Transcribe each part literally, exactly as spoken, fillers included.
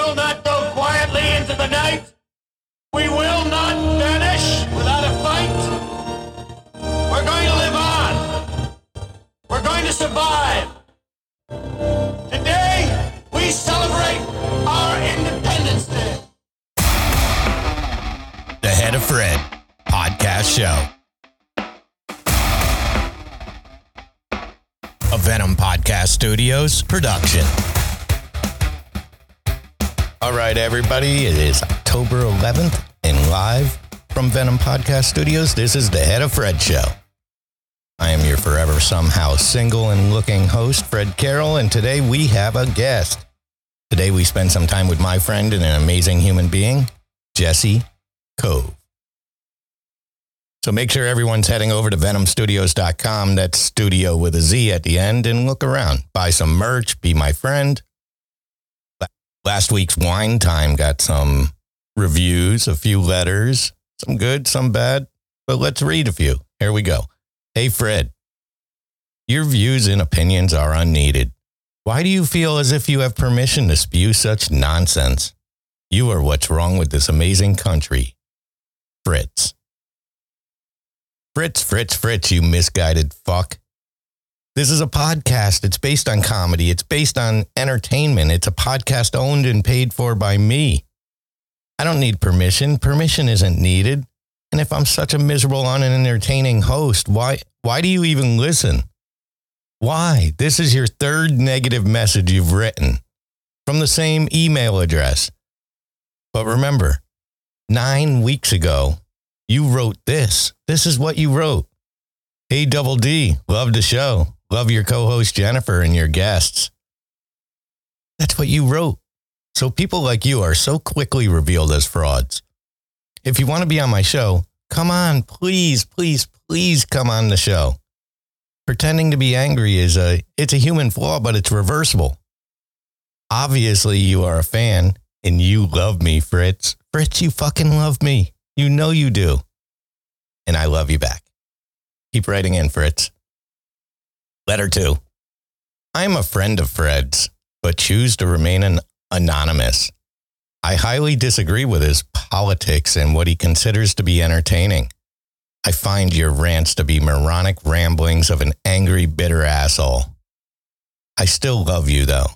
will not go quietly into the night. We will not vanish without a fight. We're going to live on. We're going to survive. Today, we celebrate our Independence Day. The Head of Fred podcast show. A Venom Podcast Studios production. All right, everybody, it is October eleventh and live from Venom Podcast Studios. This is the Head of Fred show. I am your forever somehow single and looking host, Fred Carroll, and today we have a guest. Today we spend some time with my friend and an amazing human being, Jesse Cove. So make sure everyone's heading over to venom studios dot com, that's studio with a Z at the end, and look around. Buy some merch, be my friend. Last week's Wine Time got some reviews, a few letters, some good, some bad, but let's read a few. Here we go. Hey, Fred, your views and opinions are unneeded. Why do you feel as if you have permission to spew such nonsense? You are what's wrong with this amazing country. Fritz. Fritz, Fritz, Fritz, you misguided fuck. This is a podcast. It's based on comedy. It's based on entertainment. It's a podcast owned and paid for by me. I don't need permission. Permission isn't needed. And if I'm such a miserable, unentertaining host, why, why do you even listen? Why? This is your third negative message you've written from the same email address. But remember, nine weeks ago, you wrote this. This is what you wrote. Hey, Double D, love the show. Love your co-host Jennifer and your guests. That's what you wrote. So people like you are so quickly revealed as frauds. If you want to be on my show, come on, please, please, please come on the show. Pretending to be angry is a, it's a human flaw, but it's reversible. Obviously, you are a fan and you love me, Fritz. Fritz, you fucking love me. You know you do. And I love you back. Keep writing in, Fritz. Letter two. I'm a friend of Fred's, but choose to remain an anonymous. I highly disagree with his politics and what he considers to be entertaining. I find your rants to be moronic ramblings of an angry, bitter asshole. I still love you, though.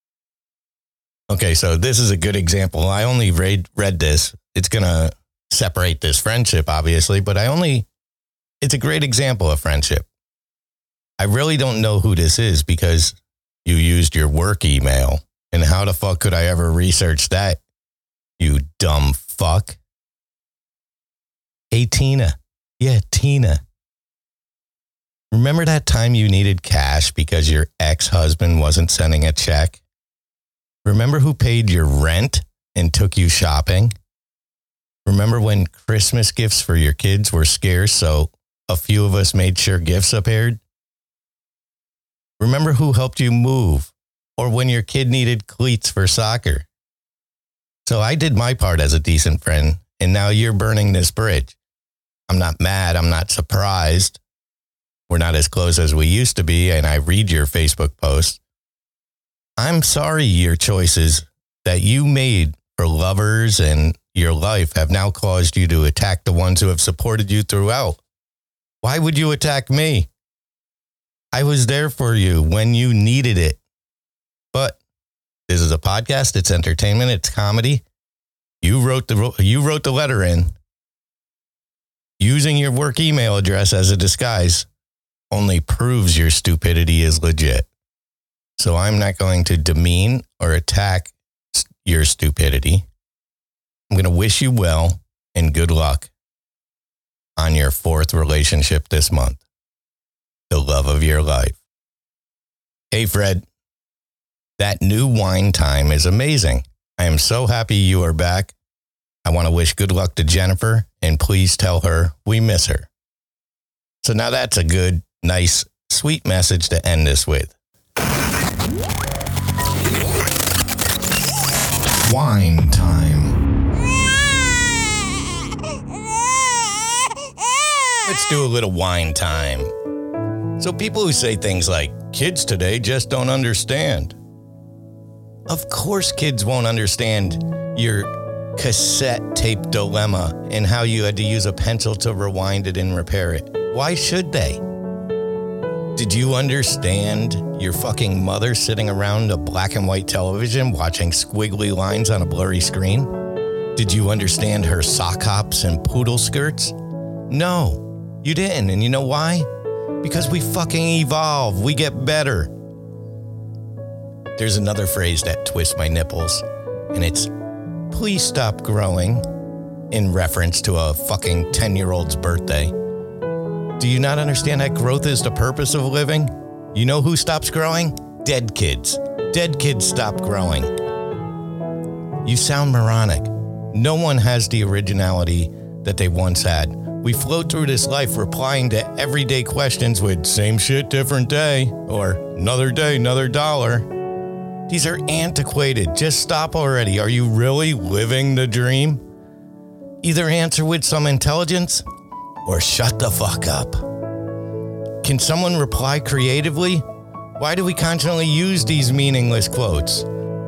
Okay, so this is a good example. I only read, read this. It's going to separate this friendship, obviously, but I only, it's a great example of friendship. I really don't know who this is because you used your work email. And how the fuck could I ever research that? You dumb fuck. Hey, Tina. Yeah, Tina. Remember that time you needed cash because your ex-husband wasn't sending a check? Remember who paid your rent and took you shopping? Remember when Christmas gifts for your kids were scarce, so a few of us made sure gifts appeared? Remember who helped you move, or when your kid needed cleats for soccer? So I did my part as a decent friend, and now you're burning this bridge. I'm not mad. I'm not surprised. We're not as close as we used to be, and I read your Facebook posts. I'm sorry your choices that you made for lovers and your life have now caused you to attack the ones who have supported you throughout. Why would you attack me? I was there for you when you needed it. But this is a podcast. It's entertainment. It's comedy. You wrote the you wrote the letter in. Using your work email address as a disguise only proves your stupidity is legit. So I'm not going to demean or attack your stupidity. I'm going to wish you well and good luck on your fourth relationship this month. The love of your life. Hey, Fred. That new Wine Time is amazing. I am so happy you are back. I want to wish good luck to Jennifer, and please tell her we miss her. So now that's a good, nice, sweet message to end this with. Wine Time. Let's do a little wine time. So people who say things like, kids today just don't understand. Of course kids won't understand your cassette tape dilemma and how you had to use a pencil to rewind it and repair it. Why should they? Did you understand your fucking mother sitting around a black and white television watching squiggly lines on a blurry screen? Did you understand her sock hops and poodle skirts? No, you didn't. And you know why? Because we fucking evolve. We get better. There's another phrase that twists my nipples, and it's, please stop growing, in reference to a fucking ten-year-old's birthday. Do you not understand that growth is the purpose of living? You know who stops growing? Dead kids. Dead kids stop growing. You sound moronic. No one has the originality that they once had. We float through this life replying to everyday questions with same shit, different day, or another day, another dollar. These are antiquated. Just stop already. Are you really living the dream? Either answer with some intelligence or shut the fuck up. Can someone reply creatively? Why do we constantly use these meaningless quotes?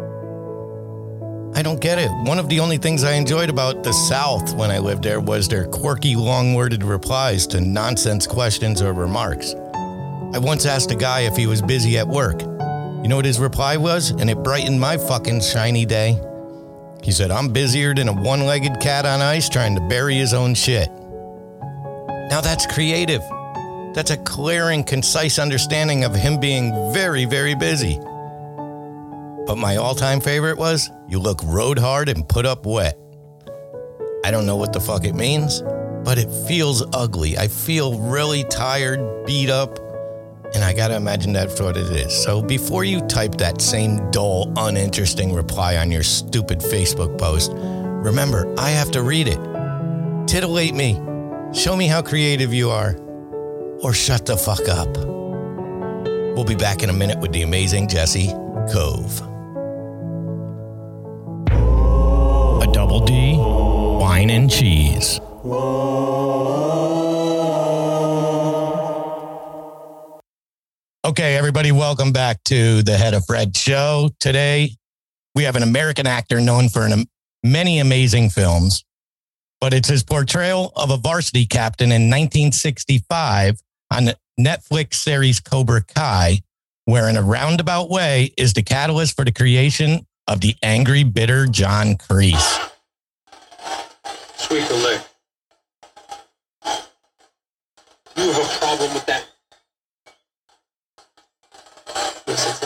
I don't get it. One of the only things I enjoyed about the South when I lived there was their quirky, long-worded replies to nonsense questions or remarks. I once asked a guy if he was busy at work. You know what his reply was? And it brightened my fucking shiny day. He said, I'm busier than a one-legged cat on ice trying to bury his own shit. Now that's creative. That's a clear and concise understanding of him being very, very busy. But my all-time favorite was, you look rode hard and put up wet. I don't know what the fuck it means, but it feels ugly. I feel really tired, beat up, and I gotta imagine that's what it is. So before you type that same dull, uninteresting reply on your stupid Facebook post, remember, I have to read it. Titillate me. Show me how creative you are. Or shut the fuck up. We'll be back in a minute with the amazing Jesse Cove. A double D, wine and cheese. Okay, everybody, welcome back to the Head of Fred show. Today, we have an American actor known for an, many amazing films, but it's his portrayal of a varsity captain in nineteen sixty-five on the Netflix series Cobra Kai, where in a roundabout way is the catalyst for the creation of the angry, bitter John Kreese. Sweep the lick. You have a problem with that? Listen.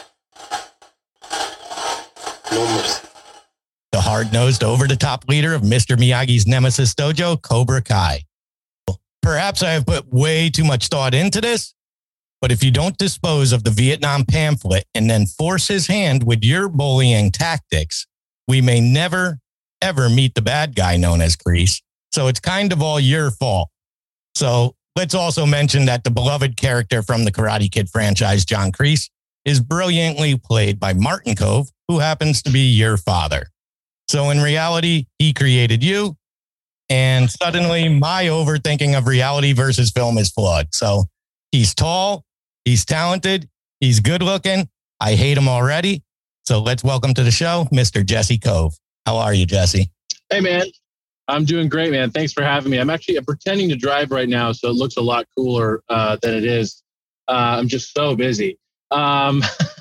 No mercy. The hard-nosed, over-the-top leader of Mister Miyagi's Nemesis Dojo, Cobra Kai. Perhaps I have put way too much thought into this, but if you don't dispose of the Vietnam pamphlet and then force his hand with your bullying tactics, we may never, ever meet the bad guy known as Kreese. So it's kind of all your fault. So let's also mention that the beloved character from the Karate Kid franchise, John Kreese, is brilliantly played by Martin Kove, who happens to be your father. So in reality, he created you. And suddenly my overthinking of reality versus film is flawed. So he's tall, he's talented, he's good looking. I hate him already. So let's welcome to the show, Mister Jesse Cove. How are you, Jesse? Hey, man. I'm doing great, man. Thanks for having me. I'm actually I'm pretending to drive right now, so it looks a lot cooler uh, than it is. Uh, I'm just so busy. Um,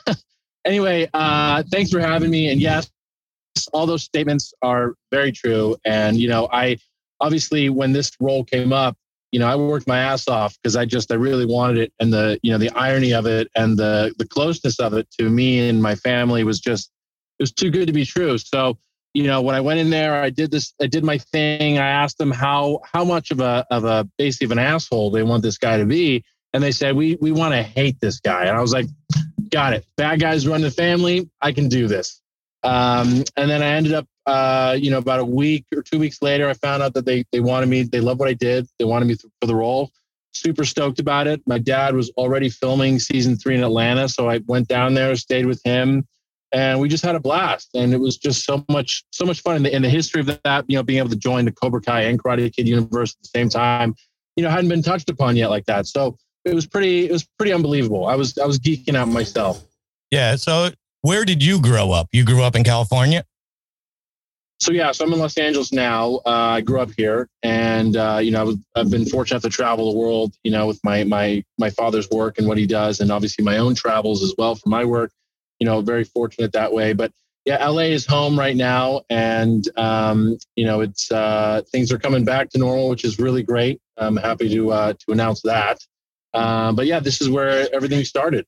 anyway, uh, thanks for having me. And yes, all those statements are very true. And, you know, I obviously, when this role came up, you know, I worked my ass off because I just, I really wanted it. And the, you know, the irony of it and the, the closeness of it to me and my family was just, it was too good to be true. So, you know, when I went in there, I did this, I did my thing. I asked them how, how much of a, of a, basically of an asshole they want this guy to be. And they said, we, we want to hate this guy. And I was like, got it. Bad guys run the family. I can do this. Um, and then I ended up, uh, you know, about a week or two weeks later, I found out that they, they wanted me, they loved what I did. They wanted me for the role. Super stoked about it. My dad was already filming season three in Atlanta. So I went down there, stayed with him, and we just had a blast. And it was just so much, so much fun in the, in the history of that, you know, being able to join the Cobra Kai and Karate Kid universe at the same time, you know, hadn't been touched upon yet like that. So it was pretty, it was pretty unbelievable. I was, I was geeking out myself. Yeah. So where did you grow up? You grew up in California? So yeah, so I'm in Los Angeles now. Uh, I grew up here, and uh, you know, I was, I've been fortunate to travel the world, you know, with my my my father's work and what he does, and obviously my own travels as well for my work. You know, very fortunate that way. But yeah, L A is home right now, and um, you know, it's uh, things are coming back to normal, which is really great. I'm happy to uh, to announce that. Uh, but yeah, this is where everything started.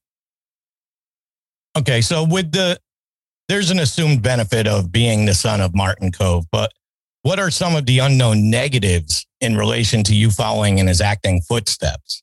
Okay, so with the there's an assumed benefit of being the son of Martin Kove, but what are some of the unknown negatives in relation to you following in his acting footsteps?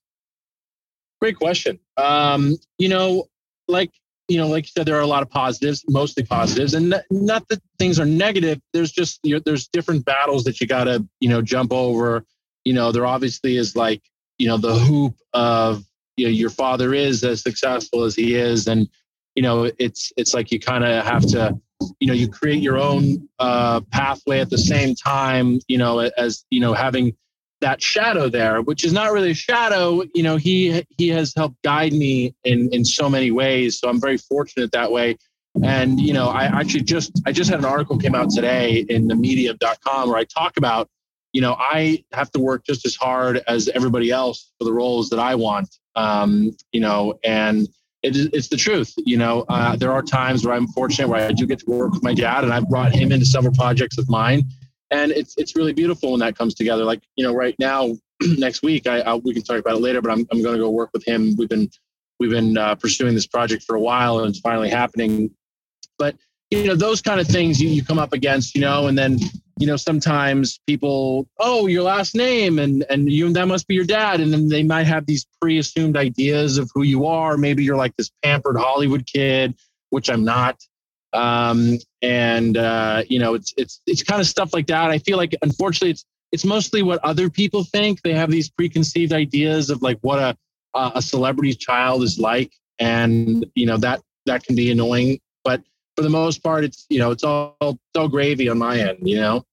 Great question. Um, you know, like, you know, like you said, there are a lot of positives, mostly positives, and not that things are negative. There's just, you know, there's different battles that you got to, you know, jump over. You know, there obviously is like, you know, the hoop of, you know, your father is as successful as he is. And, you know, it's it's like you kind of have to, you know, you create your own uh, pathway at the same time, you know, as, you know, having that shadow there, which is not really a shadow. You know, he he has helped guide me in, in so many ways. So I'm very fortunate that way. And, you know, I actually just I just had an article came out today in the medium dot com where I talk about, you know, I have to work just as hard as everybody else for the roles that I want, um, you know, and It, it's the truth. You know, uh, there are times where I'm fortunate where I do get to work with my dad, and I've brought him into several projects of mine. And it's it's really beautiful when that comes together. Like, you know, right now, next week, I, I we can talk about it later, but I'm I'm going to go work with him. We've been we've been uh, pursuing this project for a while, and it's finally happening. But, you know, those kind of things you, you come up against, you know, and then, you know, sometimes people, oh, your last name and, and you, that must be your dad. And then they might have these pre-assumed ideas of who you are. Maybe you're like this pampered Hollywood kid, which I'm not. Um, and, uh, you know, it's, it's, it's kind of stuff like that. I feel like, unfortunately, it's, it's mostly what other people think. They have these preconceived ideas of like what a, a celebrity's child is like. And, you know, that, that can be annoying, but for the most part, it's, you know, it's all, it's all gravy on my end, you know?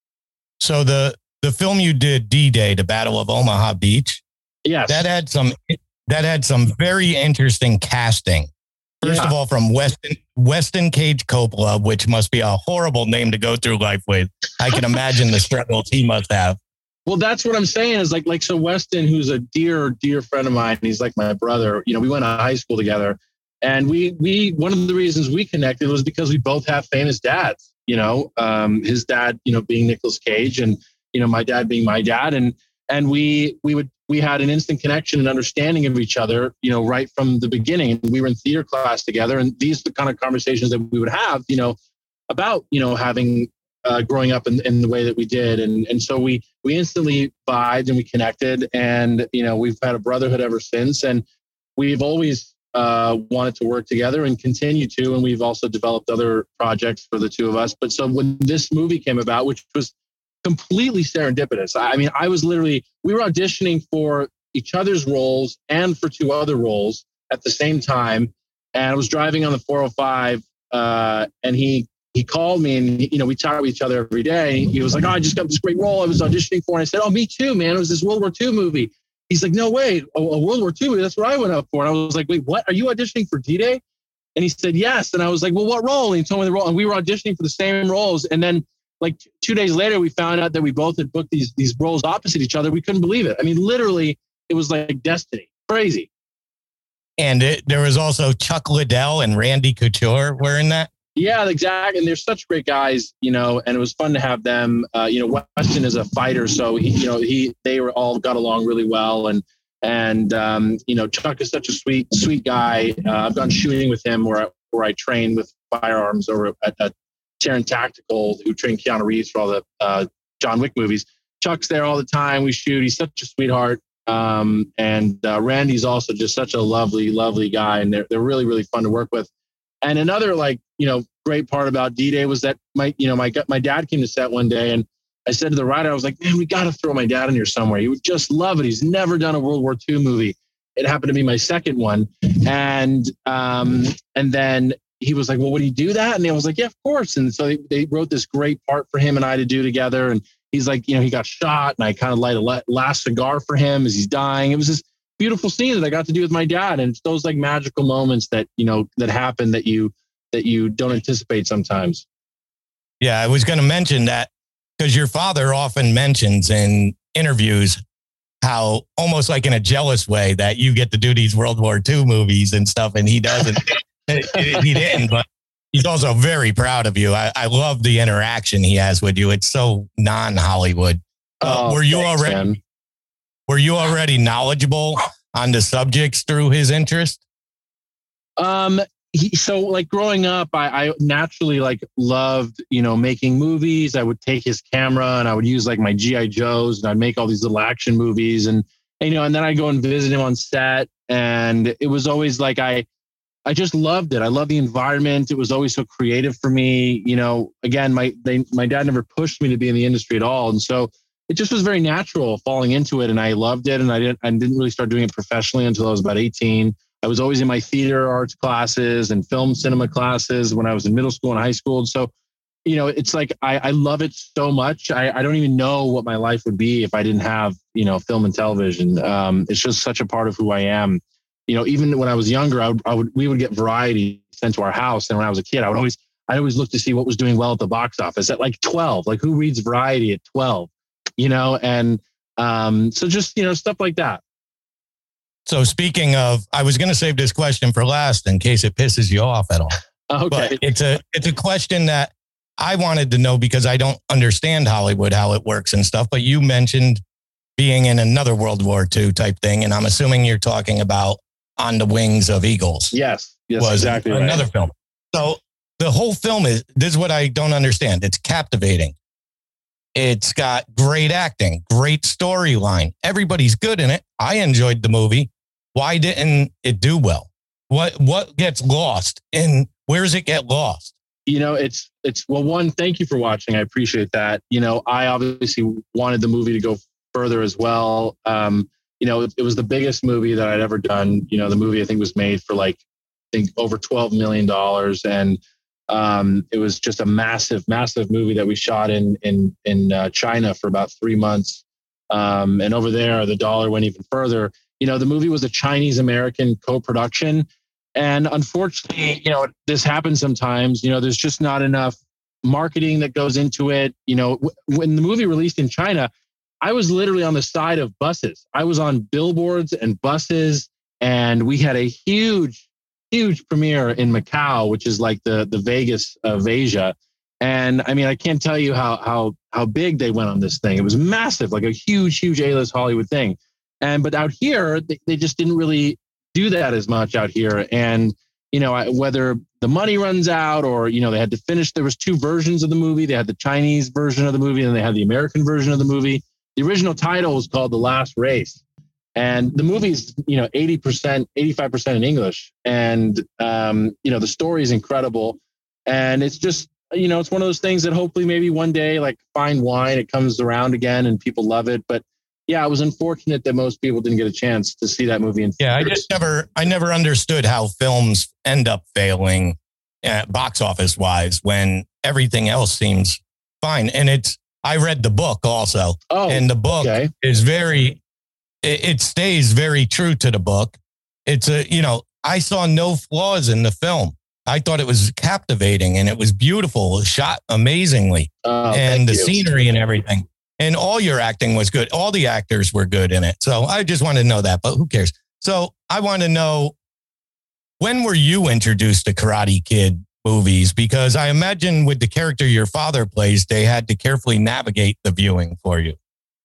So the, the film you did, D-Day, the Battle of Omaha Beach. Yes. That had some, that had some very interesting casting. First Yeah. of all, from Weston, Weston Cage Coppola, which must be a horrible name to go through life with. I can imagine the struggles he must have. Well, that's what I'm saying is like, like, so Weston, who's a dear, dear friend of mine, he's like my brother, you know, we went to high school together. And we, we, one of the reasons we connected was because we both have famous dads, you know, um, his dad, you know, being Nicolas Cage and, you know, my dad being my dad. And, and we, we would, we had an instant connection and understanding of each other, you know, right from the beginning. We were in theater class together, and these are the kind of conversations that we would have, you know, about, you know, having, uh, growing up in, in the way that we did. And, and so we, we instantly vibed and we connected, and, you know, we've had a brotherhood ever since. And we've always, uh, wanted to work together and continue to. And we've also developed other projects for the two of us. But so when this movie came about, which was completely serendipitous, I mean, I was literally, we were auditioning for each other's roles and for two other roles at the same time. And I was driving on the four oh five, uh, and he, he called me, and, you know, we talk with each other every day. He was like, oh, I just got this great role I was auditioning for. And I said, oh, me too, man. It was this World War Two movie. He's like, no way, a, a World War Two movie. That's what I went up for. And I was like, wait, what? Are you auditioning for D-Day? And he said, yes. And I was like, well, what role? And he told me the role. And we were auditioning for the same roles. And then like t- two days later, we found out that we both had booked these, these roles opposite each other. We couldn't believe it. I mean, literally, it was like destiny. Crazy. And it, there was also Chuck Liddell and Randy Couture were in that. Yeah, exactly. And they're such great guys, you know, and it was fun to have them. Uh, you know, Weston is a fighter, so he, you know, he, they were all got along really well. And, and, um, you know, Chuck is such a sweet, sweet guy. Uh, I've gone shooting with him where I, where I train with firearms over at, at Taran Tactical, who trained Keanu Reeves for all the uh, John Wick movies. Chuck's there all the time. We shoot. He's such a sweetheart. Um, and uh, Randy's also just such a lovely, lovely guy. And they're, they're really, really fun to work with. And another, like, you know, great part about D-Day was that my, you know, my, my dad came to set one day, and I said to the writer, I was like, man, we got to throw my dad in here somewhere. He would just love it. He's never done a World War Two movie. It happened to be my second one. And, um, and then he was like, well, would he do that? And I was like, yeah, of course. And so they, they wrote this great part for him and I to do together. And he's like, you know, he got shot, and I kind of light a last cigar for him as he's dying. It was this beautiful scene that I got to do with my dad. And it's those like magical moments that, you know, that happen that you, that you don't anticipate sometimes. Yeah, I was going to mention that because your father often mentions in interviews how almost like in a jealous way that you get to do these World War Two movies and stuff, and he doesn't. He didn't, but he's also very proud of you. I, I love the interaction he has with you. It's so non-Hollywood. Uh, oh, were you thanks, already man. were you already knowledgeable on the subjects through his interest? Um, he, so like growing up, I, I naturally like loved, you know, making movies. I would take his camera and I would use like my G I Joes and I'd make all these little action movies and, and, you know, and then I'd go and visit him on set. And it was always like, I, I just loved it. I love the environment. It was always so creative for me. You know, again, my, they, my dad never pushed me to be in the industry at all. And so it just was very natural falling into it. And I loved it. And I didn't, I didn't really start doing it professionally until I was about eighteen. I was always in my theater arts classes and film cinema classes when I was in middle school and high school. And so, you know, it's like, I, I love it so much. I, I don't even know what my life would be if I didn't have, you know, film and television. Um, it's just such a part of who I am. You know, even when I was younger, I would, I would, we would get Variety sent to our house. And when I was a kid, I would always, I always look to see what was doing well at the box office at like twelve, like who reads Variety at twelve, you know? And um, so just, you know, stuff like that. So speaking of, I was going to save this question for last in case it pisses you off at all. Okay. But it's a it's a question that I wanted to know because I don't understand Hollywood, how it works and stuff. But you mentioned being in another World War Two type thing. And I'm assuming you're talking about On the Wings of Eagles. Yes. Yes, was exactly. Another right. film. So the whole film is, this is what I don't understand. It's captivating. It's got great acting, great storyline. Everybody's good in it. I enjoyed the movie. Why didn't it do well? What what gets lost and where does it get lost? You know, it's it's well, one, thank you for watching. I appreciate that. You know, I obviously wanted the movie to go further as well. Um, you know, it, it was the biggest movie that I'd ever done. You know, the movie I think was made for like I think over twelve million dollars, and um, it was just a massive, massive movie that we shot in in in uh, China for about three months. Um, and over there, the dollar went even further. You know, the movie was a Chinese-American co-production. And unfortunately, you know, this happens sometimes. You know, there's just not enough marketing that goes into it. You know, w- when the movie released in China, I was literally on the side of buses. I was on billboards and buses. And we had a huge, huge premiere in Macau, which is like the, the Vegas of Asia. And I mean, I can't tell you how, how, how big they went on this thing. It was massive, like a huge, huge A-list Hollywood thing. And, but out here, they, they just didn't really do that as much out here. And, you know, whether the money runs out or, you know, they had to finish, there was two versions of the movie. They had the Chinese version of the movie and they had the American version of the movie. The original title was called The Last Race. And the movie's, you know, eighty percent, eighty-five percent in English. And, um, you know, the story is incredible. And it's just, you know, it's one of those things that hopefully maybe one day, like fine wine, it comes around again and people love it. But yeah, it was unfortunate that most people didn't get a chance to see that movie. In yeah, I just never, I never understood how films end up failing uh, box office wise when everything else seems fine. And it's, I read the book also. Oh, and the book okay. is very, it, it stays very true to the book. It's a, you know, I saw no flaws in the film. I thought it was captivating and it was beautiful, it was shot amazingly, Oh, and the thank you. scenery and everything. And all your acting was good. All the actors were good in it. So I just wanted to know that, but who cares? So I want to know, when were you introduced to Karate Kid movies? Because I imagine with the character your father plays, they had to carefully navigate the viewing for you.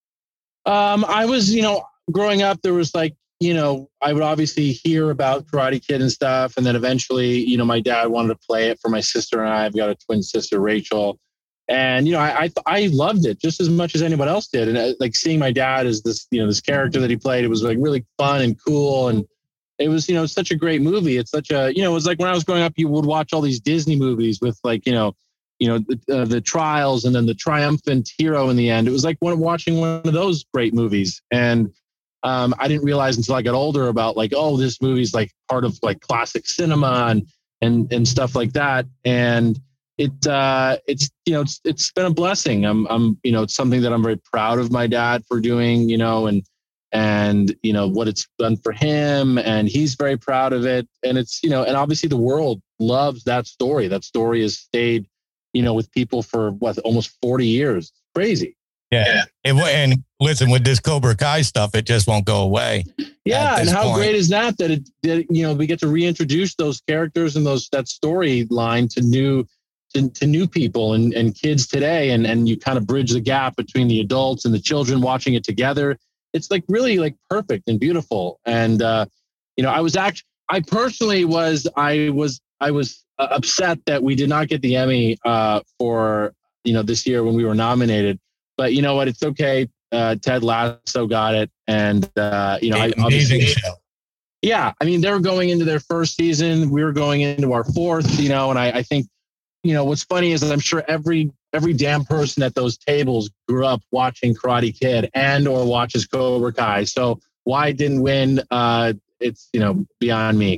Um, I was, you know, growing up, there was like, you know, I would obviously hear about Karate Kid and stuff. And then eventually, you know, my dad wanted to play it for my sister and I. I've got a twin sister, Rachel. And, you know, I, I I loved it just as much as anyone else did. And uh, like seeing my dad as this, you know, this character that he played, it was like really fun and cool. And it was, you know, such a great movie. It's such a, you know, it was like when I was growing up, you would watch all these Disney movies with like, you know, you know, the, uh, the trials and then the triumphant hero in the end. It was like one, watching one of those great movies. And um, I didn't realize until I got older about like, oh, this movie's like part of like classic cinema and, and, and stuff like that. And It uh, it's you know it's it's been a blessing. I'm I'm you know it's something that I'm very proud of my dad for doing. You know and and you know what it's done for him, and he's very proud of it. And it's you know and obviously the world loves that story. That story has stayed, you know, with people for what, almost forty years. It's crazy. Yeah. It, and listen, with this Cobra Kai stuff, it just won't go away. Yeah. And how point. great is that, that it, that, you know, we get to reintroduce those characters and those, that storyline to new, to, to new people and, and kids today. And, and you kind of bridge the gap between the adults and the children watching it together. It's like really like perfect and beautiful. And, uh, you know, I was actually, I personally was, I was, I was uh, upset that we did not get the Emmy uh, for, you know, this year when we were nominated. But you know what? It's okay. Uh, Ted Lasso got it. And, uh, you know, I, amazing show. Yeah. I mean, they were going into their first season. We were going into our fourth, you know, and I, I think, you know, what's funny is that I'm sure every, every damn person at those tables grew up watching Karate Kid and or watches Cobra Kai. So why it didn't win? Uh, it's, you know, beyond me.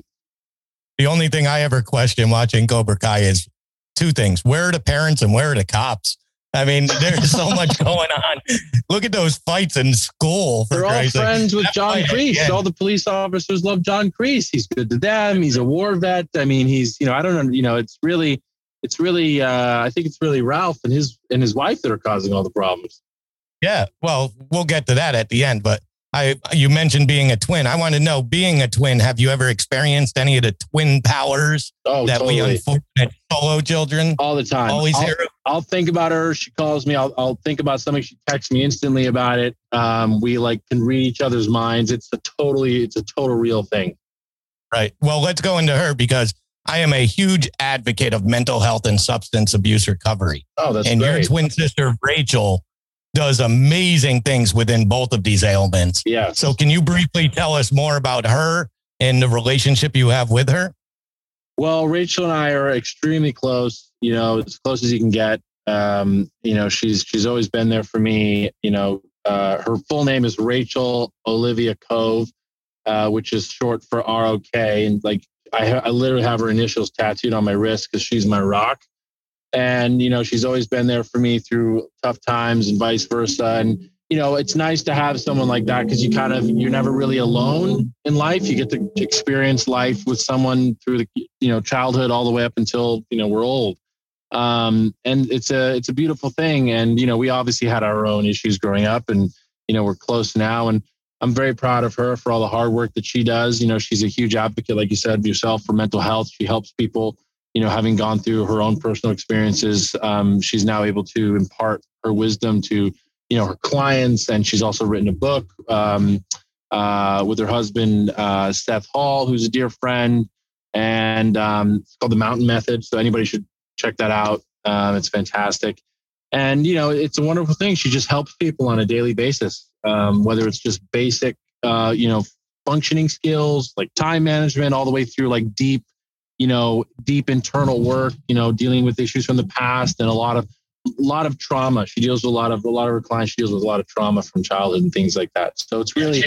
The only thing I ever question watching Cobra Kai is two things. Where are the parents and where are the cops? I mean, there's so much going on. Look at those fights in school. For They're all Christ's friends sake. with John Kreese. All the police officers love John Kreese. He's good to them. He's a war vet. I mean, he's, you know, I don't know, you know, it's really, it's really, uh, I think it's really Ralph and his, and his wife that are causing all the problems. Yeah. Well, we'll get to that at the end, but I, you mentioned being a twin. I want to know, being a twin, have you ever experienced any of the twin powers oh, that totally. we unfortunate solo children all the time? Always I'll, hear. I'll think about her. She calls me. I'll, I'll think about something. She texts me instantly about it. Um, we like can read each other's minds. It's a totally, it's a total real thing. Right. Well, let's go into her because I am a huge advocate of mental health and substance abuse recovery. Oh, that's and great. Your twin sister, Rachel, does amazing things within both of these ailments. Yeah. So can you briefly tell us more about her and the relationship you have with her? Well, Rachel and I are extremely close, you know, as close as you can get. Um, you know, she's, she's always been there for me. You know, uh, her full name is Rachel Olivia Cove, uh, which is short for R O K. And like, I, ha- I literally have her initials tattooed on my wrist because she's my rock. And, you know, she's always been there for me through tough times and vice versa. And, you know, it's nice to have someone like that because you kind of, you're never really alone in life. You get to experience life with someone through the, you know, childhood all the way up until, you know, we're old. Um, and it's a, it's a beautiful thing. And, you know, we obviously had our own issues growing up and, you know, we're close now. And I'm very proud of her for all the hard work that she does. You know, she's a huge advocate, like you said, yourself, for mental health. She helps people. You know, having gone through her own personal experiences, um, she's now able to impart her wisdom to, you know, her clients. And she's also written a book um, uh, with her husband, uh, Seth Hall, who's a dear friend. And um, it's called The Mountain Method. So anybody should check that out. Um, it's fantastic. And, you know, it's a wonderful thing. She just helps people on a daily basis, um, whether it's just basic, uh, you know, functioning skills like time management, all the way through like deep, you know, deep internal work, you know, dealing with issues from the past and a lot of, a lot of trauma. She deals with a lot of, a lot of her clients, she deals with a lot of trauma from childhood and things like that. So it's really.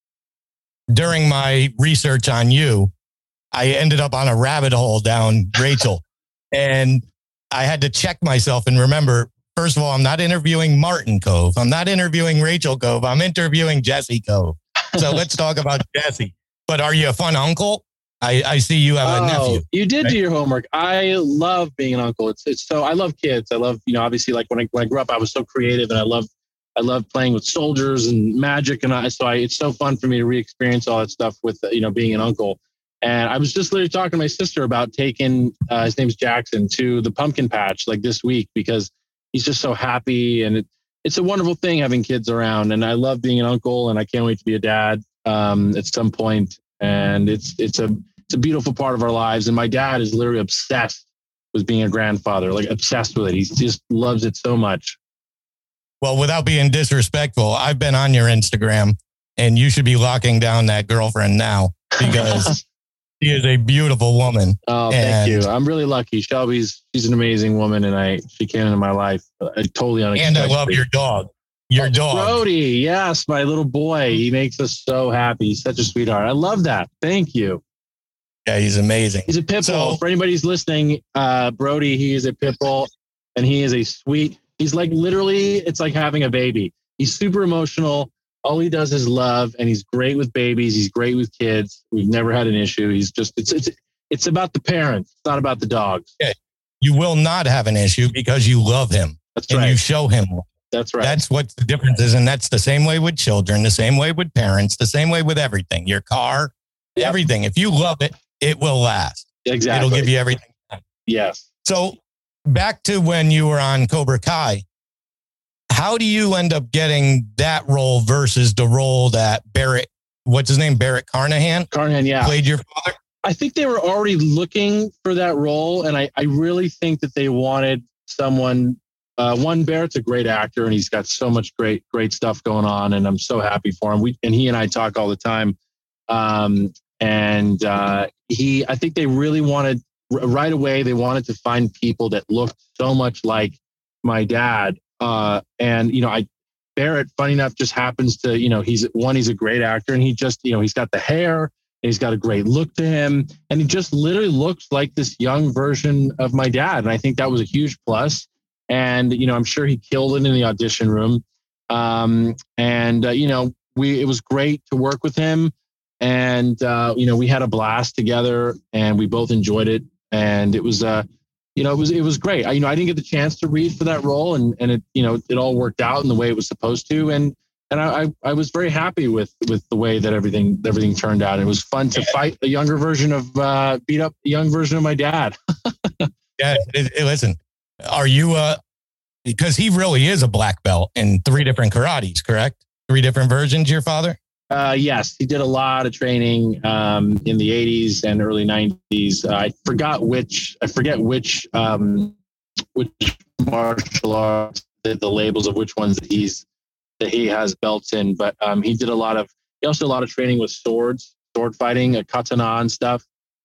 During my research on you, I ended up on a rabbit hole down Rachel and I had to check myself and remember, first of all, I'm not interviewing Martin Cove. I'm not interviewing Rachel Cove. I'm interviewing Jesse Cove. So let's talk about Jesse. But are you a fun uncle? I, I see you have a oh, nephew. You did right? do your homework. I love being an uncle. It's it's so I love kids. I love, you know, obviously like when I when I grew up, I was so creative and I love I love playing with soldiers and magic. And I so I it's so fun for me to re-experience all that stuff with, you know, being an uncle. And I was just literally talking to my sister about taking uh, his name's Jackson to the pumpkin patch like this week because he's just so happy. And it, it's a wonderful thing having kids around. And I love being an uncle and I can't wait to be a dad um, at some point. And it's it's a it's a beautiful part of our lives. And my dad is literally obsessed with being a grandfather, like obsessed with it. He just loves it so much. Well, without being disrespectful, I've been on your Instagram and you should be locking down that girlfriend now because she is a beautiful woman. Oh, thank you. I'm really lucky. Shelby's she's an amazing woman and I she came into my life uh, totally unexpectedly. And I love your dog. Your oh, dog. Brody, yes, my little boy. He makes us so happy. He's such a sweetheart. I love that. Thank you. Yeah, he's amazing. He's a pit bull. So, For anybody who's listening, uh, Brody, he is a pit bull and he is a sweet, he's like literally, it's like having a baby. He's super emotional. All he does is love and he's great with babies. He's great with kids. We've never had an issue. He's just, it's, it's, It's about the parents. It's not about the dogs. Okay. You will not have an issue because you love him. That's and right. you show him. That's right. That's what the difference is. And that's the same way with children, the same way with parents, the same way with everything. Your car, yep. everything. If you love it, it will last. Exactly. It'll give you everything. Yes. So back to when you were on Cobra Kai, how do you end up getting that role versus the role that Barrett, what's his name? Barrett Carnahan? Carnahan, yeah. Played your father? I think they were already looking for that role. And I, I really think that they wanted someone, uh, one, Barrett's a great actor and he's got so much great, great stuff going on. And I'm so happy for him. We, and he and I talk all the time. Um, and uh, he, I think they really wanted, right away, they wanted to find people that looked so much like my dad. Uh, and, you know, I, Barrett, funny enough, just happens to, you know, he's one, he's a great actor and he just, you know, he's got the hair. He's got a great look to him. And he just literally looks like this young version of my dad. And I think that was a huge plus. And, you know, I'm sure he killed it in the audition room. Um, and, uh, you know, we, it was great to work with him. And, uh, you know, we had a blast together and we both enjoyed it. And it was, uh, you know, it was, it was great. I, you know, I didn't get the chance to read for that role and, and it, you know, it all worked out in the way it was supposed to. And, And I, I, I was very happy with, with the way that everything everything turned out. It was fun to fight a younger version of, uh, beat up a young version of my dad. yeah, it, it, listen, are you, uh, because he really is a black belt in three different karates, correct? Three different versions, your father? Uh, yes, he did a lot of training um, in the eighties and early nineties. Uh, I forgot which, I forget which, um, which martial arts, the, the labels of which ones that he's, that he has belts in, but um, he did a lot of, he also did a lot of training with swords, sword fighting, a katana and stuff.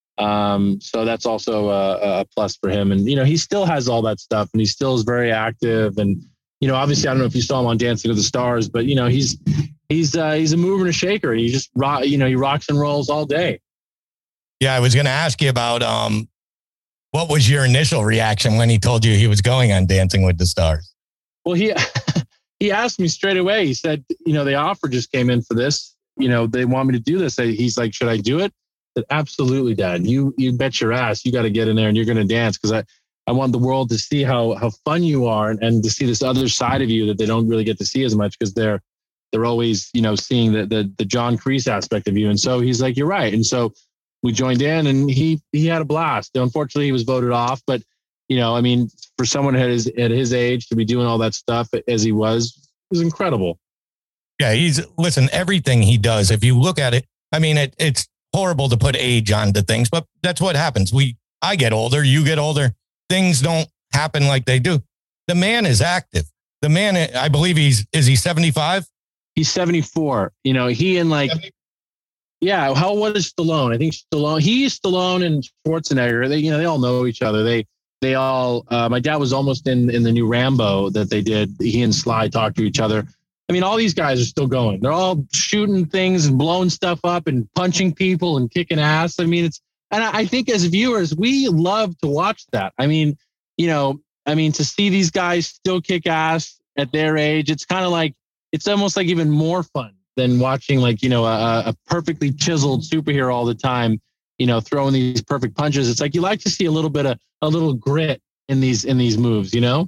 Um, so that's also a, a plus for him. And, you know, he still has all that stuff and he still is very active. And, you know, obviously, I don't know if you saw him on Dancing with the Stars, but, you know, he's, he's, uh, he's a mover and a shaker. He just rock, you know, he rocks and rolls all day. Yeah. I was going to ask you about, um, what was your initial reaction when he told you he was going on Dancing with the Stars? Well, he, He asked me straight away. He said, you know, the offer just came in for this. You know, they want me to do this. He's like, should I do it? I said, absolutely, Dad. You you bet your ass. You got to get in there and you're going to dance because I, I want the world to see how how fun you are and, and to see this other side of you that they don't really get to see as much because they're they're always, you know, seeing the, the the John Kreese aspect of you. And so he's like, you're right. And so we joined in and he he had a blast. Unfortunately, he was voted off, but you know, I mean, for someone at his, at his age to be doing all that stuff as he was, was incredible. Yeah, he's, listen, everything he does, if you look at it, I mean, it, it's horrible to put age onto things, but that's what happens. We, I get older, you get older. Things don't happen like they do. The man is active. The man, I believe he's, is he seventy-five? He's seventy-four. You know, he and like, seventy yeah, how, what is Stallone? I think Stallone, he's Stallone and Schwarzenegger. They, you know, they all know each other. They, They all, uh, my dad was almost in, in the new Rambo that they did. He and Sly talked to each other. I mean, all these guys are still going. They're all shooting things and blowing stuff up and punching people and kicking ass. I mean, it's, and I think as viewers, we love to watch that. I mean, you know, I mean, to see these guys still kick ass at their age, it's kind of like, it's almost like even more fun than watching like, you know, a, a perfectly chiseled superhero all the time, you know, throwing these perfect punches. It's like, you like to see a little bit of, a little grit in these, in these moves, you know?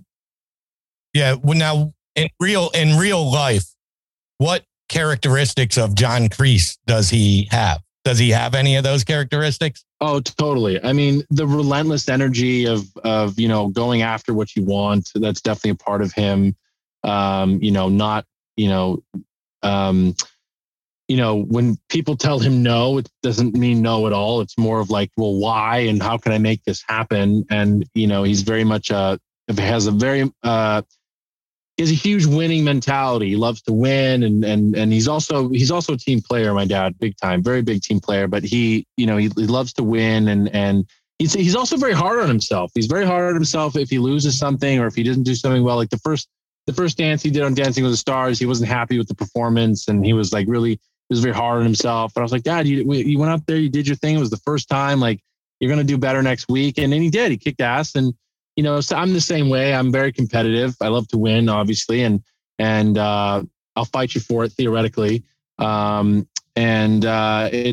Yeah. Well, now in real, in real life, what characteristics of John Kreese does he have? Does he have any of those characteristics? Oh, totally. I mean, the relentless energy of, of, you know, going after what you want. That's definitely a part of him. Um, you know, not, you know, um, you know, when people tell him no, it doesn't mean no at all. It's more of like, well, why? And how can I make this happen? And, you know, he's very much, uh, has a very, uh, he has a huge winning mentality. He loves to win. And, and, and he's also, he's also a team player, my dad, big time, very big team player, but he, you know, he, he loves to win. And, and he's, he's also very hard on himself. He's very hard on himself if he loses something or if he doesn't do something well. Like the first, the first dance he did on Dancing with the Stars, he wasn't happy with the performance. And he was like, really, he was very hard on himself. But I was like, Dad, you, you went out there, you did your thing. It was the first time, like, you're going to do better next week. And then he did, he kicked ass. And, you know, so I'm the same way. I'm very competitive. I love to win, obviously. And, and, uh, I'll fight you for it theoretically. Um, and, uh, it's,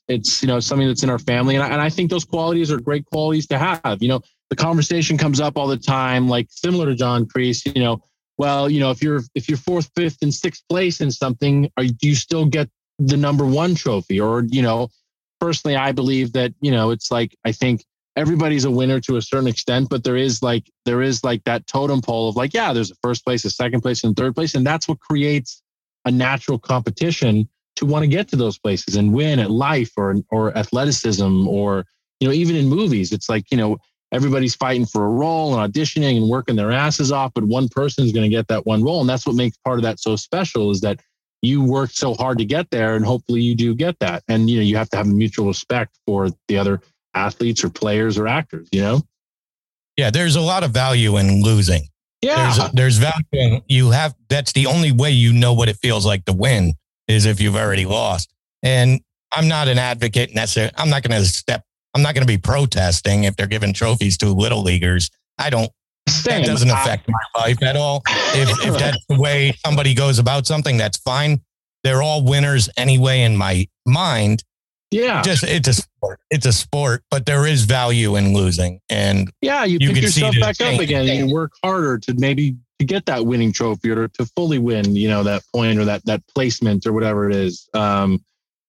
It's, you know, something that's in our family. And I, and I think those qualities are great qualities to have. You know, the conversation comes up all the time, like similar to John Kreese, you know, well, you know, if you're, if you're fourth, fifth and sixth place in something, are, do you still get the number one trophy? Or, you know, personally, I believe that, you know, it's like, I think everybody's a winner to a certain extent, but there is like, there is like that totem pole of like, yeah, there's a first place, a second place, and third place. And that's what creates a natural competition to want to get to those places and win at life or, or athleticism, or, you know, even in movies, it's like, you know, everybody's fighting for a role and auditioning and working their asses off, but one person is going to get that one role. And that's what makes part of that so special, is that you worked so hard to get there, and hopefully you do get that. And, you know, you have to have mutual respect for the other athletes or players or actors, you know? Yeah. There's a lot of value in losing. Yeah. There's, there's value in, you have, that's the only way you know what it feels like to win, is if you've already lost. And I'm not an advocate necessarily. I'm not going to step, I'm not going to be protesting if they're giving trophies to little leaguers. I don't, Same. that doesn't affect my life at all. If, if that's the way somebody goes about something, that's fine. They're all winners anyway in my mind. Yeah. Just, it's a sport. It's a sport, but there is value in losing. And yeah, you, you pick can yourself see the back up change. again and you work harder to maybe to get that winning trophy, or to fully win, you know, that point or that, that placement or whatever it is. Um,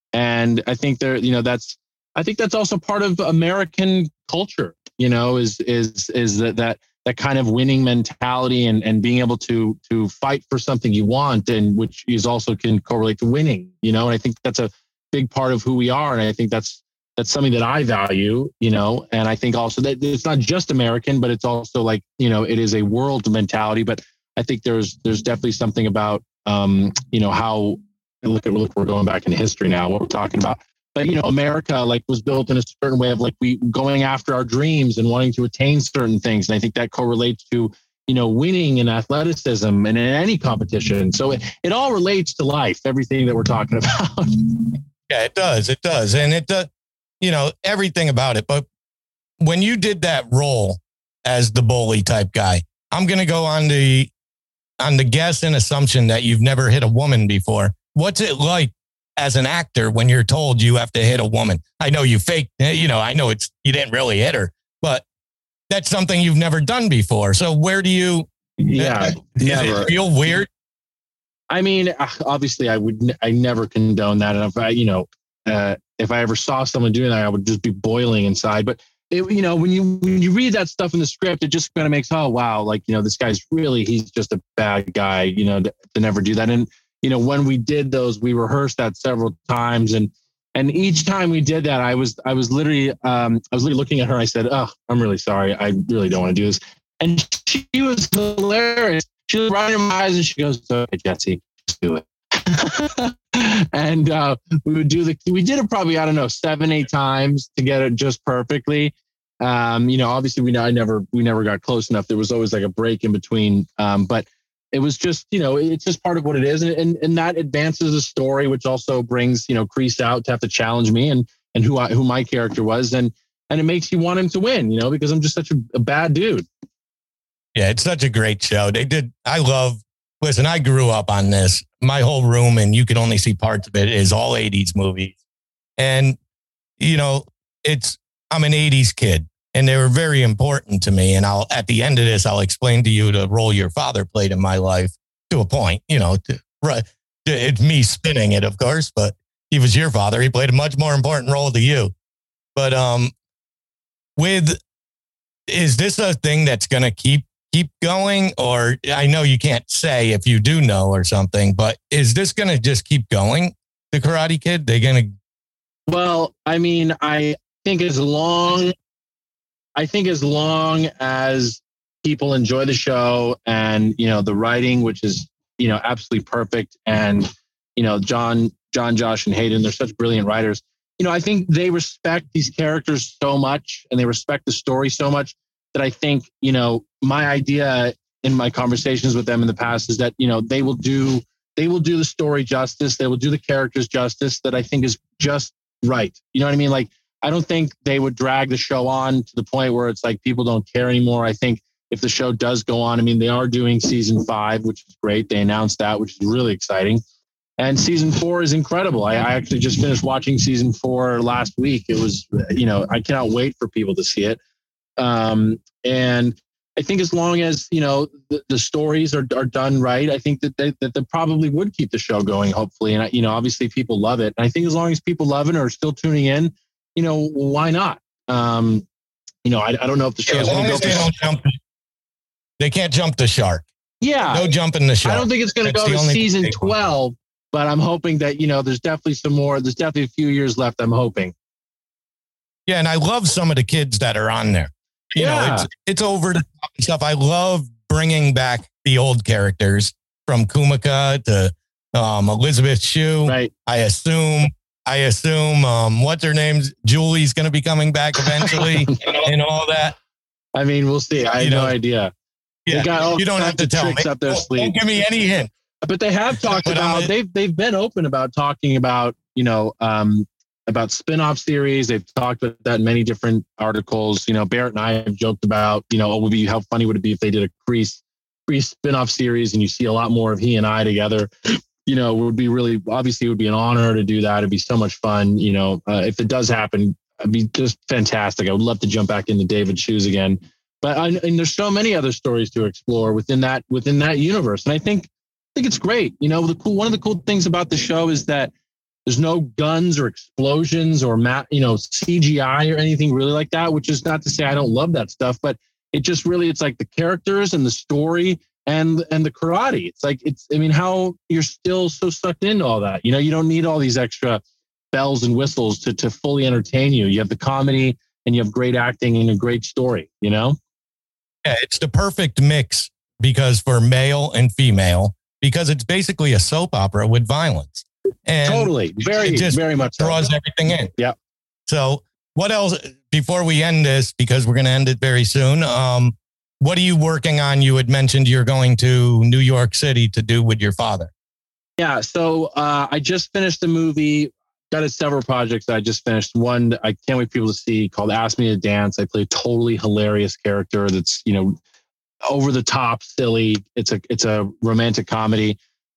and I think there, you know, that's, I think that's also part of American culture, you know, is, is, is that, that, that kind of winning mentality, and, and being able to, to fight for something you want, and which is also can correlate to winning, you know, and I think that's a big part of who we are. And I think that's, that's something that I value, you know, and I think also that it's not just American, but it's also like, you know, it is a world mentality. But I think there's, there's definitely something about, um, you know, how, look at, look, we're going back in history now, what we're talking about. But, you know, America like was built in a certain way of like we going after our dreams and wanting to attain certain things. And I think that correlates to, you know, winning in athleticism and in any competition. So it, it all relates to life, everything that we're talking about. Yeah, it does. It does. And it does, you know, everything about it. But when you did that role as the bully type guy, I'm going to go on the, on the guess and assumption that you've never hit a woman before. What's it like as an actor when you're told you have to hit a woman? I know you faked, you know, I know it's, you didn't really hit her, but that's something you've never done before. So where do you, yeah, does never. it feel weird? I mean, obviously I would, I never condone that. And if I, you know, uh, if I ever saw someone doing that, I would just be boiling inside. But it, you know, when you, when you read that stuff in the script, it just kind of makes, oh, wow. Like, you know, this guy's really, he's just a bad guy, you know, to, to never do that. And, you know, when we did those, we rehearsed that several times. And, and each time we did that, I was, I was literally, um, I was literally looking at her. I said, oh, I'm really sorry. I really don't want to do this. And she was hilarious. She was running in my eyes and she goes, okay, Jesse, just do it. And uh, we would do the, we did it probably, I don't know, seven, eight times to get it just perfectly. Um, you know, obviously we, I never, we never got close enough. There was always like a break in between. Um, but it was just, you know, it's just part of what it is. And, and, and that advances the story, which also brings, you know, Kreese out to have to challenge me and, and who I, who my character was. And, and it makes you want him to win, you know, because I'm just such a, a bad dude. Yeah, it's such a great show. They did. I love, listen, I grew up on this. My whole room, and you can only see parts of it, is all eighties movies. And, you know, it's, I'm an eighties kid and they were very important to me. And I'll, at the end of this, I'll explain to you the role your father played in my life to a point, you know, to, right. It's me spinning it, of course, but he was your father. He played a much more important role to you. But um, with, is this a thing that's going to keep keep going? Or I know you can't say if you do know or something, but is this going to just keep going? The Karate Kid, they're going to. Well, I mean, I think as long, I think as long as people enjoy the show and, you know, the writing, which is, you know, absolutely perfect. And, you know, John, John, Josh and Hayden, they're such brilliant writers. You know, I think they respect these characters so much and they respect the story so much that I think, you know, my idea in my conversations with them in the past is that, you know, they will do, they will do the story justice. They will do the characters justice that I think is just right. You know what I mean? Like, I don't think they would drag the show on to the point where it's like people don't care anymore. I think if the show does go on, I mean, they are doing season five, which is great. They announced that, which is really exciting. And season four is incredible. I, I actually just finished watching season four last week. It was, you know, I cannot wait for people to see it. Um, and I think as long as, you know, the, the stories are, are done right, I think that they, that they probably would keep the show going, hopefully. And, you know, obviously people love it. And I think as long as people love it or are still tuning in, you know, why not? Um, you know, I, I don't know if the show's yeah, going to go. They, don't jump, they can't jump the shark. Yeah. No jumping the shark. I don't think it's going to go to season twelve, but I'm hoping that, you know, there's definitely some more. There's definitely a few years left, I'm hoping. Yeah, and I love some of the kids that are on there. You yeah. know, it's, it's over the top and stuff. I love bringing back the old characters from Kumika to um, Elizabeth Shue. Right. I assume, I assume, um, what's her name? Julie's going to be coming back eventually and all that. I mean, we'll see. I have you know, no idea. Yeah, got all you don't have to tell me. Up their don't, sleeve. Don't give me any hint. But they have talked but about, they've, they've been open about talking about, you know, um, about spin-off series. They've talked about that in many different articles. You know, Barrett and I have joked about, you know, oh, would be, how funny would it be if they did a Kreese, Kreese spin-off series and you see a lot more of he and I together. You know, it would be really, obviously it would be an honor to do that. It'd be so much fun. You know, uh, if it does happen, it'd be just fantastic. I would love to jump back into David's shoes again. But I, and there's so many other stories to explore within that, within that universe. And I think, I think it's great. You know, the cool, one of the cool things about the show is that there's no guns or explosions or, ma- you know, C G I or anything really like that, which is not to say I don't love that stuff, but it just really, it's like the characters and the story and, and the karate. It's like, it's, I mean, how you're still so sucked into all that. You know, you don't need all these extra bells and whistles to, to fully entertain you. You have the comedy and you have great acting and a great story, you know? Yeah, it's the perfect mix because for male and female, because it's basically a soap opera with violence. And totally. Very, just very much draws so. everything in. Yeah. So what else, before we end this, because we're going to end it very soon. Um, what are you working on? You had mentioned you're going to New York City to do with your father. Yeah. So uh, I just finished a movie, got a several projects that I just finished. One I can't wait for people to see called Ask Me to Dance. I play a totally hilarious character that's, you know, over the top, silly. It's a, it's a romantic comedy.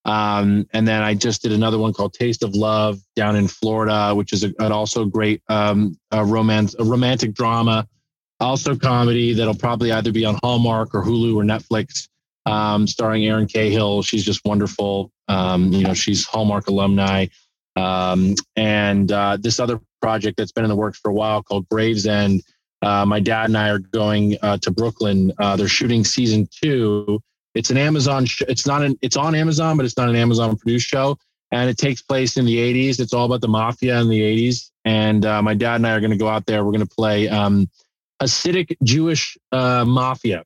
Um, and then I just did another one called Taste of Love down in Florida, which is a, an also great um, a romance, a romantic drama, also comedy that'll probably either be on Hallmark or Hulu or Netflix, um, starring Erin Cahill. She's just wonderful. Um, you know, she's Hallmark alumni. Um, and uh, this other project that's been in the works for a while called Gravesend. Uh, my dad and I are going uh, to Brooklyn. Uh, they're shooting season two. It's an Amazon. Sh- it's not an. It's on Amazon, but it's not an Amazon produced show, and it takes place in the eighties. It's all about the mafia in the eighties. And uh, my dad and I are going to go out there. We're going to play um, Hasidic Jewish uh, mafia.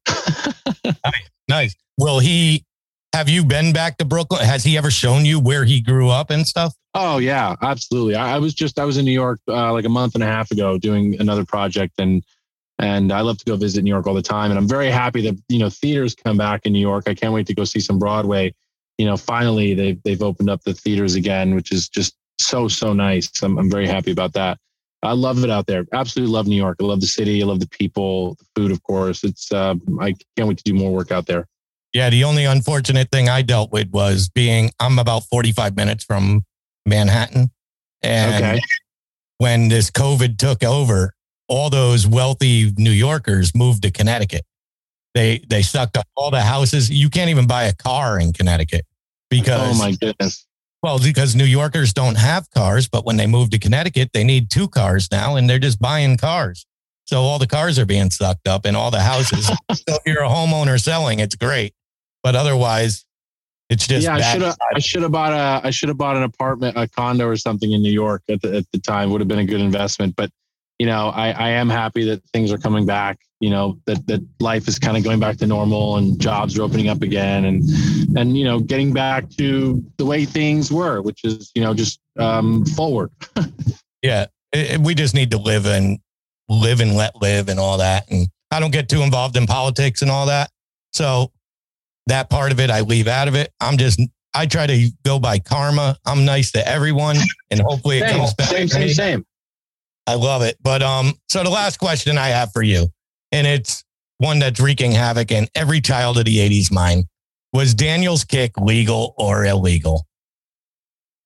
Nice, nice. Will he? Have you been back to Brooklyn? Has he ever shown you where he grew up and stuff? Oh yeah, absolutely. I, I was just I was in New York uh, like a month and a half ago doing another project, and. And I love to go visit New York all the time. And I'm very happy that, you know, theaters come back in New York. I can't wait to go see some Broadway. You know, finally, they've, they've opened up the theaters again, which is just so, so nice. I'm, I'm very happy about that. I love it out there. Absolutely love New York. I love the city. I love the people, the food, of course. It's uh, I can't wait to do more work out there. Yeah, the only unfortunate thing I dealt with was being, I'm about forty-five minutes from Manhattan. And okay. when this COVID took over, all those wealthy New Yorkers moved to Connecticut. They they sucked up all the houses. You can't even buy a car in Connecticut because, oh my goodness. Well, because New Yorkers don't have cars, but when they move to Connecticut, they need two cars now, and they're just buying cars. So all the cars are being sucked up in all the houses. So if you're a homeowner selling, it's great, but otherwise, it's just yeah. I should have I should have bought a I should have bought an apartment, a condo, or something in New York at the at the time. Would have been a good investment, but. You know, I, I am happy that things are coming back, you know, that, that life is kind of going back to normal and jobs are opening up again and, and, you know, getting back to the way things were, which is, you know, just um, forward. Yeah. It, we just need to live and live and let live and all that. And I don't get too involved in politics and all that. So that part of it, I leave out of it. I'm just, I try to go by karma. I'm nice to everyone and hopefully it same, comes back. Same, same, same. I love it. But um, so the last question I have for you, and it's one that's wreaking havoc in every child of the eighties mind. Was Daniel's kick legal or illegal?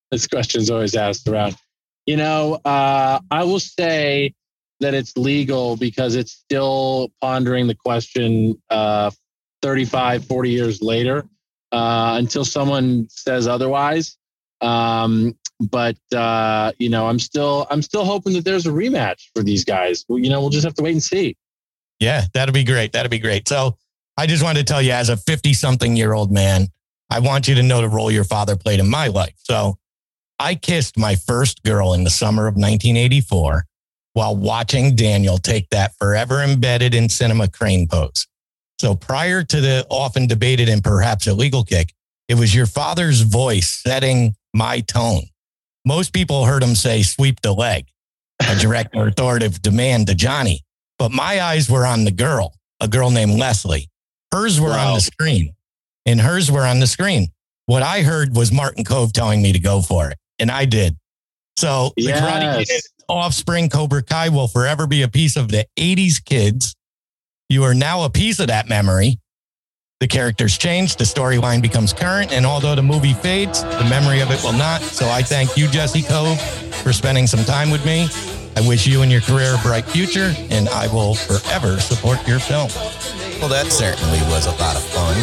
This question is always asked around. You know, uh, I will say that it's legal because it's still pondering the question uh, thirty-five, forty years later uh, until someone says otherwise. Um, but uh, you know, I'm still I'm still hoping that there's a rematch for these guys. Well, you know, we'll just have to wait and see. Yeah, that'd be great. That'd be great. So I just wanted to tell you, as a fifty-something-year-old man, I want you to know the role your father played in my life. So I kissed my first girl in the summer of nineteen eighty-four while watching Daniel take that forever embedded in cinema crane pose. So prior to the often debated and perhaps illegal kick, it was your father's voice setting my tone. Most people heard him say, sweep the leg, a direct or authoritative demand to Johnny. But my eyes were on the girl, a girl named Leslie. Hers were wow. on the screen, and hers were on the screen. What I heard was Martin Kove telling me to go for it. And I did. So the yes. Karate Kid offspring Cobra Kai will forever be a piece of the eighties kids. You are now a piece of that memory. The characters change, the storyline becomes current, and although the movie fades, the memory of it will not. So I thank you, Jesse Kove, for spending some time with me. I wish you and your career a bright future, and I will forever support your film. Well, that certainly was a lot of fun.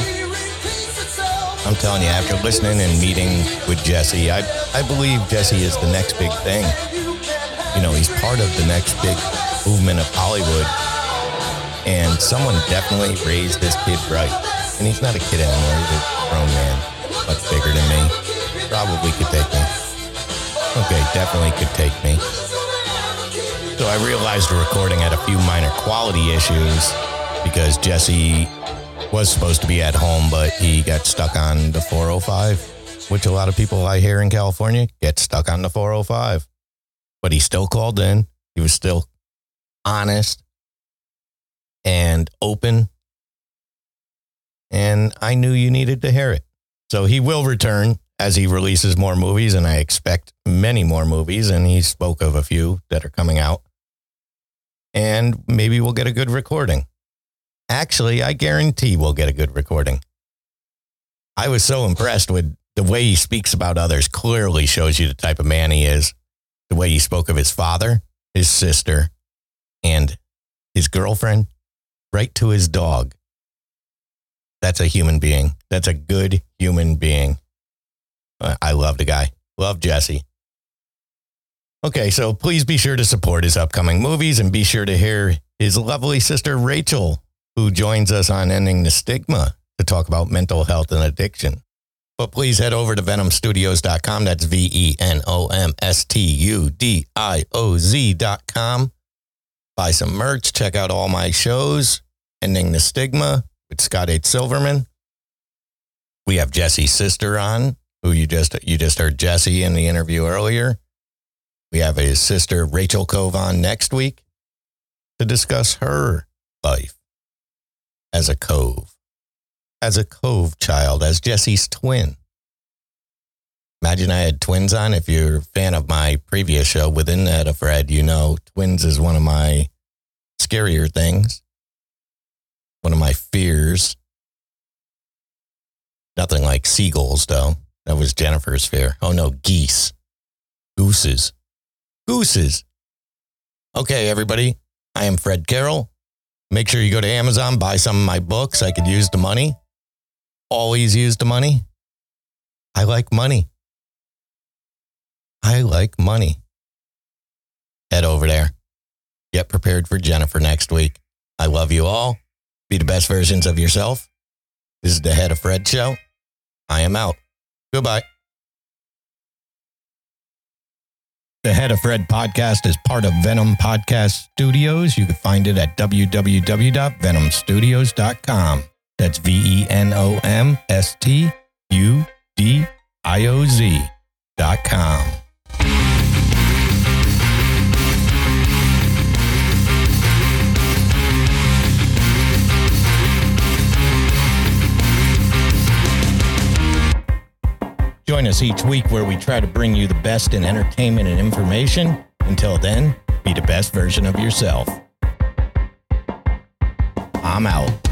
I'm telling you, after listening and meeting with Jesse, I, I believe Jesse is the next big thing. You know, he's part of the next big movement of Hollywood. And someone definitely raised this kid right. And he's not a kid anymore. He's a grown man, much bigger than me. Probably could take me. Okay, definitely could take me. So I realized the recording had a few minor quality issues because Jesse was supposed to be at home, but he got stuck on the four oh five, which a lot of people I hear in California get stuck on the four oh five. But he still called in. He was still honest and open. And I knew you needed to hear it. So he will return as he releases more movies, and I expect many more movies. And he spoke of a few that are coming out. And maybe we'll get a good recording. Actually, I guarantee we'll get a good recording. I was so impressed with the way he speaks about others. Clearly shows you the type of man he is. The way he spoke of his father, his sister, and his girlfriend, right to his dog. That's a human being. That's a good human being. I love the guy. Love Jesse. Okay, so please be sure to support his upcoming movies and be sure to hear his lovely sister, Rachel, who joins us on Ending the Stigma to talk about mental health and addiction. But please head over to venom studios dot com. That's V E N O M S T U D I O Z dot com. Buy some merch. Check out all my shows. Ending the Stigma with Scott H. Silverman. We have Jesse's sister on, who you just you just heard Jesse in the interview earlier. We have his sister, Rachel Kove, on next week to discuss her life as a Kove, as a Kove child, as Jesse's twin. Imagine I had twins on. If you're a fan of my previous show, Within That of Fred, you know twins is one of my scarier things. One of my fears. Nothing like seagulls, though. That was Jennifer's fear. Oh, no, geese. Gooses. Gooses. Okay, everybody. I am Fred Carroll. Make sure you go to Amazon, buy some of my books. I could use the money. Always use the money. I like money. I like money. Head over there. Get prepared for Jennifer next week. I love you all. Be the best versions of yourself. This is the Head of Fred Show. I am out. Goodbye. The Head of Fred podcast is part of Venom Podcast Studios. You can find it at w w w dot venom studios dot com. That's V E N O M S T U D I O Z dot com. Join us each week where we try to bring you the best in entertainment and information. Until then, be the best version of yourself. I'm out.